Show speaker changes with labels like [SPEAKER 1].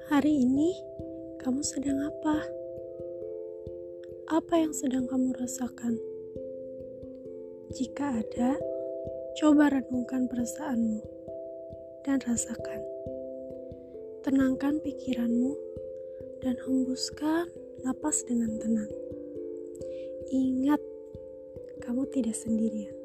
[SPEAKER 1] Hari ini, kamu sedang apa? Apa yang sedang kamu rasakan? Jika ada, coba renungkan perasaanmu dan rasakan. Tenangkan pikiranmu dan hembuskan napas dengan tenang. Ingat, kamu tidak sendirian.